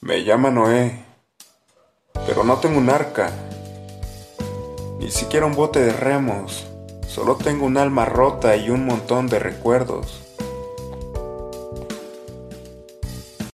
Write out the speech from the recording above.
Me llama Noé, pero no tengo un arca, ni siquiera un bote de remos. Solo tengo un alma rota y un montón de recuerdos.